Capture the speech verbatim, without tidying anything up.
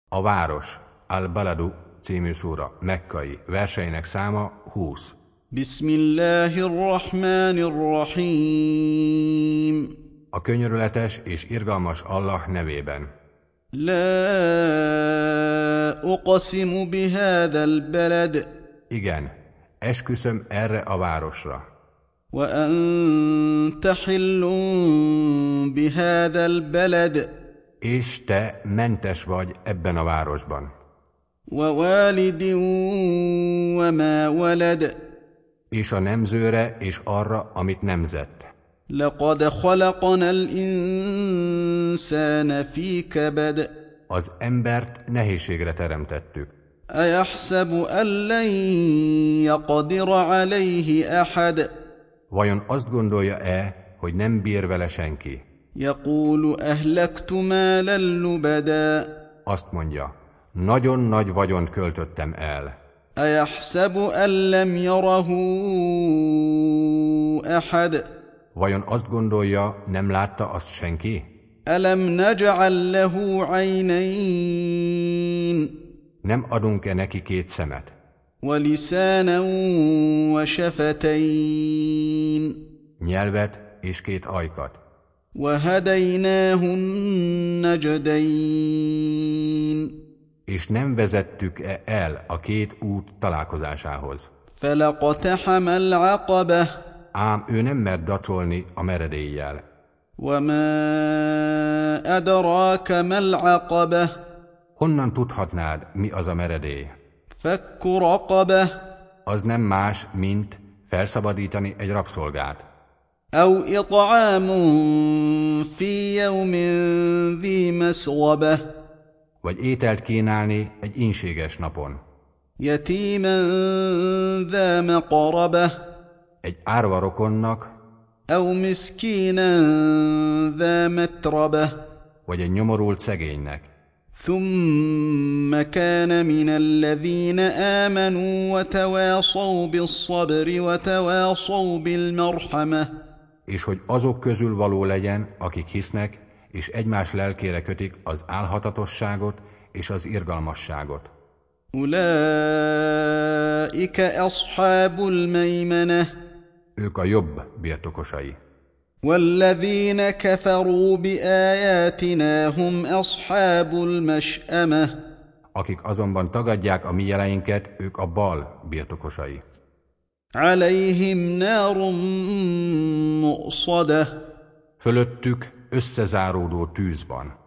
A város, Al-Baladu című szúra, mekkai, verseinek száma húsz. Bismillahirrahmanirrahim. A könyörületes és irgalmas Allah nevében. La uqsimu bihadhal balad. Igen, esküszöm erre a városra. Wa anta hillun bihadhal balad. És te mentes vagy ebben a városban. Wa walidin wa ma walad. És a nemzőre és arra, amit nemzett. Laqad khalaqnal insana fi kabad. Az embert nehézségre teremtettük. Ayahsabu an lan yaqdira alayhi ahad. Vajon azt gondolja-e, hogy nem bír vele senki? Yaqulu ahlaktu malan lubada. Azt mondja, nagyon nagy vagyont költöttem el. Ayahsabu an lam yarahu ahad. Vajon azt gondolja, nem látta azt senki? Alam naj'al lahu aynayn. Nem adunk-e neki két szemet? Wa lisanan wa shafatayn. Nyelvet és két ajkat. Wa hadaynahu najdayn. És nem vezettük-e el a két út találkozásához? Falaqtahama al-aqabah. Ám ő nem mert dacolni a meredéllyel. Wa ma adraka mal aqabah. Honnan tudhatnád, mi az a meredély? Fakku raqabah. Az nem más, mint felszabadítani egy rabszolgát. Aw it'amun fi yawmin dhi masghaba. Vagy ételt kínálni egy ínséges napon. Yatiman dha maqrabah. Egy árva rokonnak, Aw miskinan dha matrabah. vagy egy nyomorult szegénynek. ثم كان من الذين آمنوا وتواصوا بالصبر وتواصوا بالمرحمة. És hogy azok közül való legyen, akik hisznek, és egymás lelkére kötik az álhatatosságot és az irgalmasságot. أولئك أصحاب الميمنة. Ők a jobb birtokosai. والذين كفروا بآياتنا هم أصحاب المشأمة. Akik azonban tagadják a mi jeleinket, ők a bal birtokosai. عليهم نار مؤصدة. Fölöttük összezáródó tűz van.